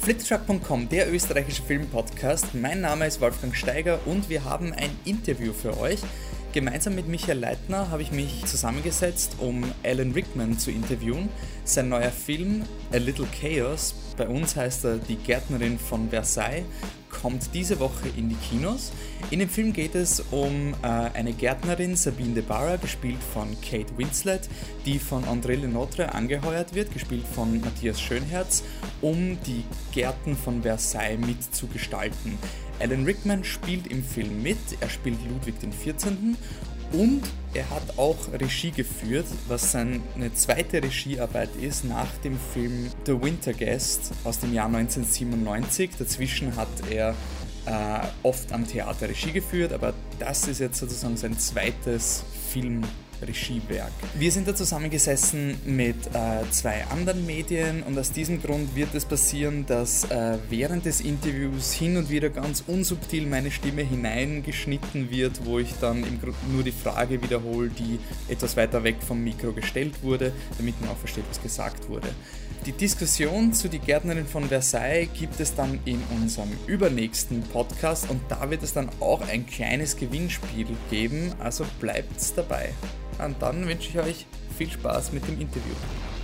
Flitterschlag.com, der österreichische Filmpodcast. Mein Name ist Wolfgang Steiger und wir haben ein Interview für euch. Gemeinsam mit Michael Leitner habe ich mich zusammengesetzt, um Alan Rickman zu interviewen. Sein neuer Film A Little Chaos, bei uns heißt er Die Gärtnerin von Versailles, kommt diese Woche in die Kinos. In dem Film geht es um eine Gärtnerin, Sabine de Barra, gespielt von Kate Winslet, die von André Le Nôtre angeheuert wird, gespielt von Matthias Schönherz, um die Gärten von Versailles mitzugestalten. Alan Rickman spielt im Film mit, er spielt Ludwig XIV. Und er hat auch Regie geführt, was seine zweite Regiearbeit ist nach dem Film The Winter Guest aus dem Jahr 1997. Dazwischen hat er oft am Theater Regie geführt, aber das ist jetzt sozusagen sein zweites Filmregiewerk. Wir sind da zusammengesessen mit zwei anderen Medien und aus diesem Grund wird es passieren, dass während des Interviews hin und wieder ganz unsubtil meine Stimme hineingeschnitten wird, wo ich dann im Grunde nur die Frage wiederhole, die etwas weiter weg vom Mikro gestellt wurde, damit man auch versteht, was gesagt wurde. Die Diskussion zu Die Gärtnerin von Versailles gibt es dann in unserem übernächsten Podcast und da wird es dann auch ein kleines Gewinnspiel geben, also bleibt's dabei. Und dann wünsche ich euch viel Spaß mit dem Interview.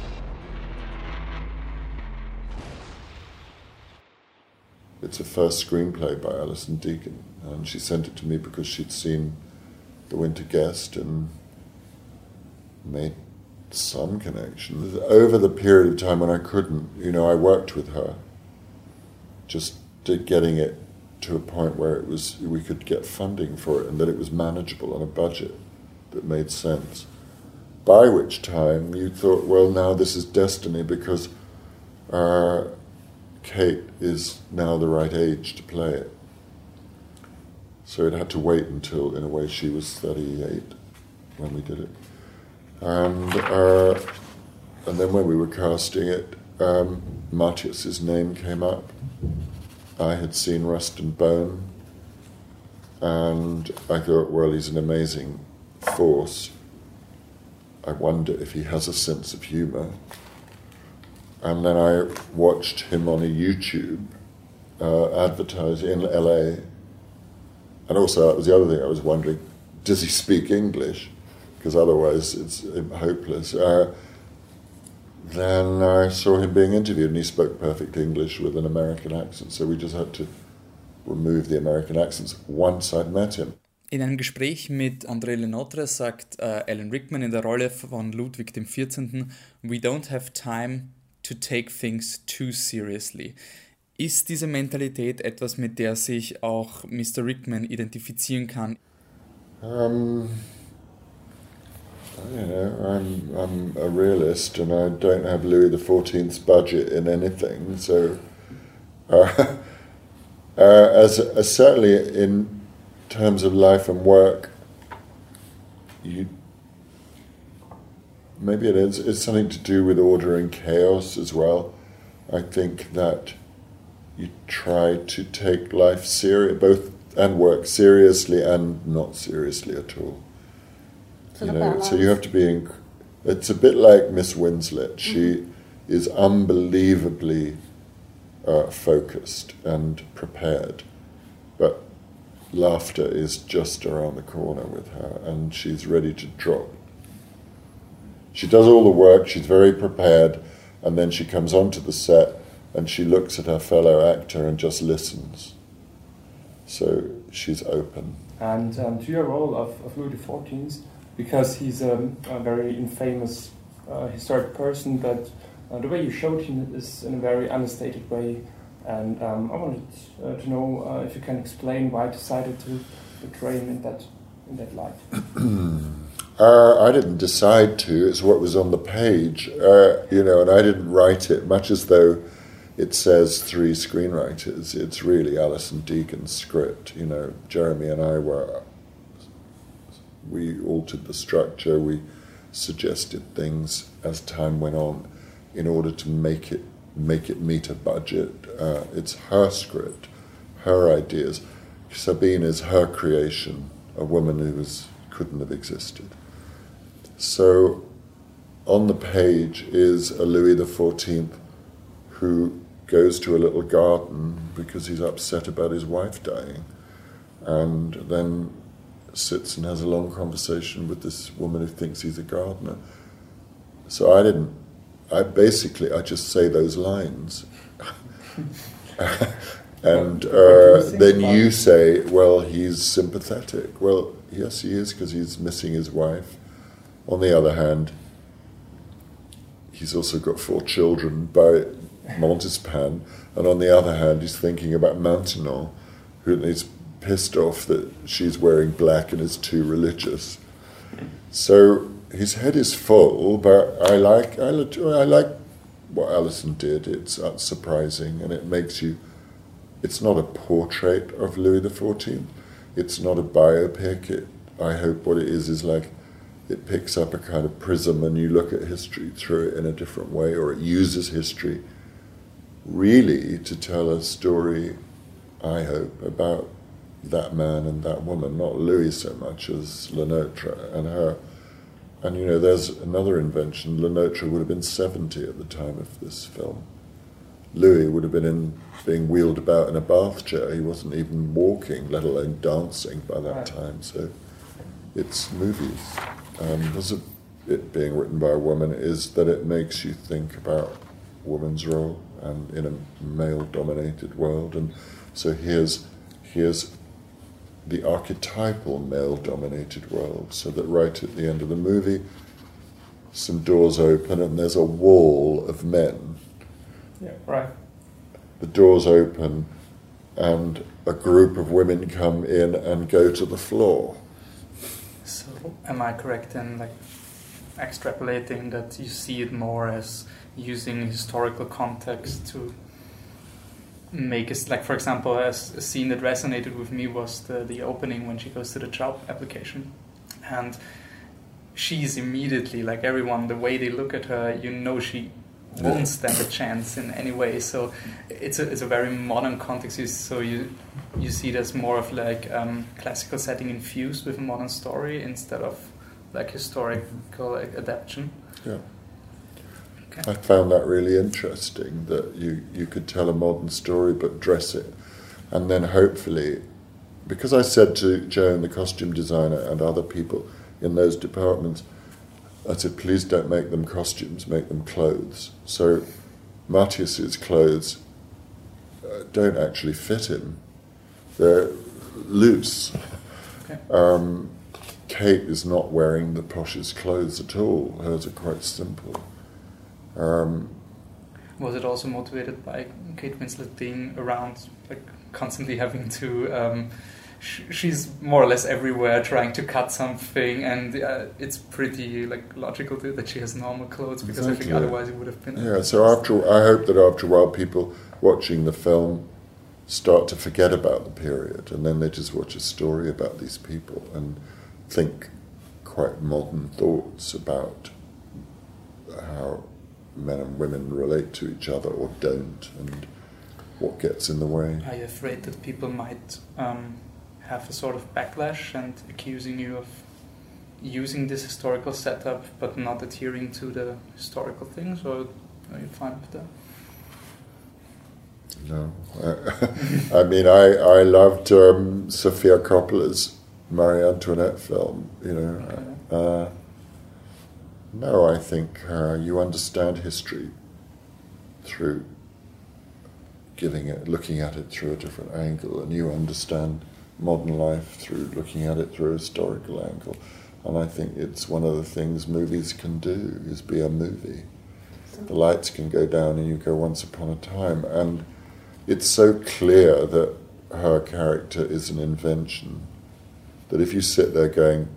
It's a first screenplay by Alison Deakin, and she sent it to me because she'd seen The Winter Guest and made some connection. Over the period of time when I couldn't, I worked with her, just getting it to a point where we could get funding for it and that it was manageable on a budget that made sense. By which time you thought, well, now this is destiny because Kate is now the right age to play it. So it had to wait until, in a way, she was 38 when we did it. And then when we were casting it, Matthias's name came up. I had seen Rust and Bone, and I thought, well, he's an amazing force. I wonder if he has a sense of humour. And then I watched him on a YouTube advertising in LA. And also, that was the other thing I was wondering, does he speak English? Because otherwise it's hopeless. Then I saw him being interviewed and he spoke perfect English with an American accent, so we just had to remove the American accents once I'd met him. In einem Gespräch mit André Le Nôtre sagt Alan Rickman in der Rolle von Ludwig XIV. We don't have time to take things too seriously. Ist diese Mentalität etwas, mit der sich auch Mr. Rickman identifizieren kann? I'm a realist and I don't have Louis XIV's budget in anything, so certainly in terms of life and work, maybe it's something to do with order and chaos as well. I think that you try to take life both and work seriously and not seriously at all. So you have to be. It's a bit like Miss Winslet. She is unbelievably focused and prepared, but laughter is just around the corner with her, and she's ready to drop. She does all the work. She's very prepared, and then she comes onto the set and she looks at her fellow actor and just listens. So she's open. And to your role of Louis XIV. Because he's a very infamous historic person, but the way you showed him is in a very understated way. And I wanted to know if you can explain why you decided to portray him in that light. I didn't decide to. It's what was on the page, and I didn't write it, much as though it says 3 screenwriters. It's really Alison Deakin's script. Jeremy and I we altered the structure, we suggested things as time went on in order to make it meet a budget. It's her script, her ideas. Sabine is her creation, a woman who couldn't have existed. So on the page is a Louis XIV who goes to a little garden because he's upset about his wife dying, and then sits and has a long conversation with this woman who thinks he's a gardener. So I just say those lines. And then you say, well, he's sympathetic. Well, yes, he is, because he's missing his wife. On the other hand, he's also got 4 children by Montespan, and on the other hand, he's thinking about Maintenon, who is pissed off that she's wearing black and is too religious. So his head is full, but I like what Alison did. It's surprising, and it makes you. It's not a portrait of Louis XIV. It's not a biopic. I hope what it is like it picks up a kind of prism, and you look at history through it in a different way, or it uses history really to tell a story, I hope, about that man and that woman, not Louis so much as Le Nôtre and her. And, there's another invention. Le Nôtre would have been 70 at the time of this film. Louis would have been being wheeled about in a bath chair. He wasn't even walking, let alone dancing by that time. So it's movies. Because of it being written by a woman is that it makes you think about a woman's role and in a male-dominated world. And so here's the archetypal male-dominated world, so that right at the end of the movie, some doors open and there's a wall of men. Yeah, right. The doors open and a group of women come in and go to the floor. So am I correct in extrapolating that you see it more as using historical context to make it, for example, as a scene that resonated with me was the opening when she goes to the job application, and she's immediately, everyone, the way they look at her, she won't stand a chance in any way. So it's a very modern context. So you see it as more of classical setting infused with a modern story instead of historical adaptation. Yeah. I found that really interesting, that you could tell a modern story but dress it. And then hopefully, because I said to Joan, the costume designer, and other people in those departments, I said, please don't make them costumes, make them clothes. So Matthias's clothes don't actually fit him. They're loose. Okay. Kate is not wearing the poshest clothes at all. Hers are quite simple. Was it also motivated by Kate Winslet being around, constantly having to... she's more or less everywhere trying to cut something, and it's pretty logical that she has normal clothes, because exactly. I think otherwise it would have been... Yeah, so I hope that after a while people watching the film start to forget about the period, and then they just watch a story about these people and think quite modern thoughts about how men and women relate to each other or don't, and what gets in the way. Are you afraid that people might have a sort of backlash and accusing you of using this historical setup but not adhering to the historical things, or are you fine with that? No. I mean, I loved Sofia Coppola's Marie Antoinette film, Okay. No, I think you understand history through looking at it through a different angle, and you understand modern life through looking at it through a historical angle. And I think it's one of the things movies can do, is be a movie. The lights can go down and you go once upon a time, and it's so clear that her character is an invention that if you sit there going,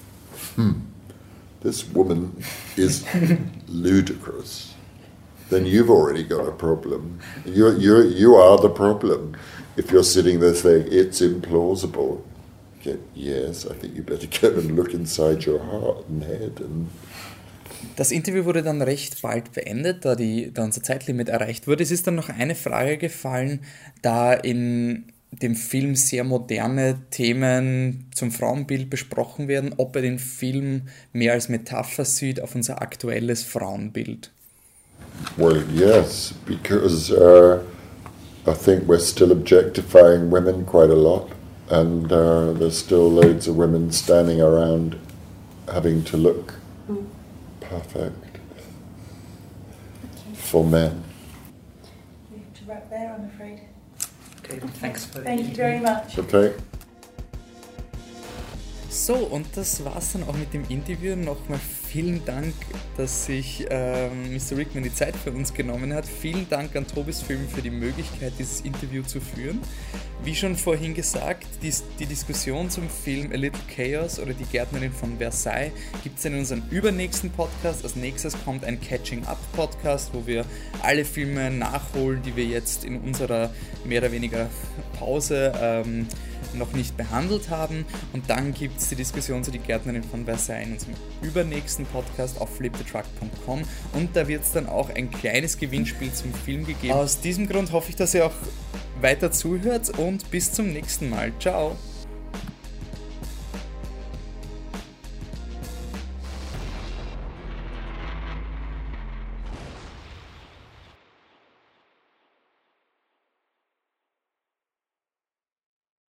this woman is ludicrous, then you've already got a problem. You are the problem. If you're sitting there saying, it's implausible, yes, I think you better go and look inside your heart and head. Das Interview wurde dann recht bald beendet, da unser Zeitlimit erreicht wurde. Es ist dann noch eine Frage gefallen, da in dem Film sehr moderne Themen zum Frauenbild besprochen werden, ob er den Film mehr als Metapher sieht auf unser aktuelles Frauenbild. Well, yes, because I think we're still objectifying women quite a lot, and there's still loads of women standing around having to look perfect for men. We have to wrap there, I'm afraid. Okay, thanks for Thank you very much. Okay. So, und das war's dann auch mit dem Interview. Nochmal vielen Dank, dass sich Mr. Rickman die Zeit für uns genommen hat. Vielen Dank an Tobis Film für die Möglichkeit, dieses Interview zu führen. Wie schon vorhin gesagt, die Diskussion zum Film A Little Chaos oder Die Gärtnerin von Versailles gibt es in unserem übernächsten Podcast. Als nächstes kommt ein Catching-Up-Podcast, wo wir alle Filme nachholen, die wir jetzt in unserer mehr oder weniger Pause noch nicht behandelt haben. Und dann gibt es die Diskussion zu Die Gärtnerin von Versailles in unserem übernächsten Podcast auf flipthetruck.com, und da wird es dann auch ein kleines Gewinnspiel zum Film gegeben. Aus diesem Grund hoffe ich, dass ihr auch weiter zuhört, und bis zum nächsten Mal. Ciao!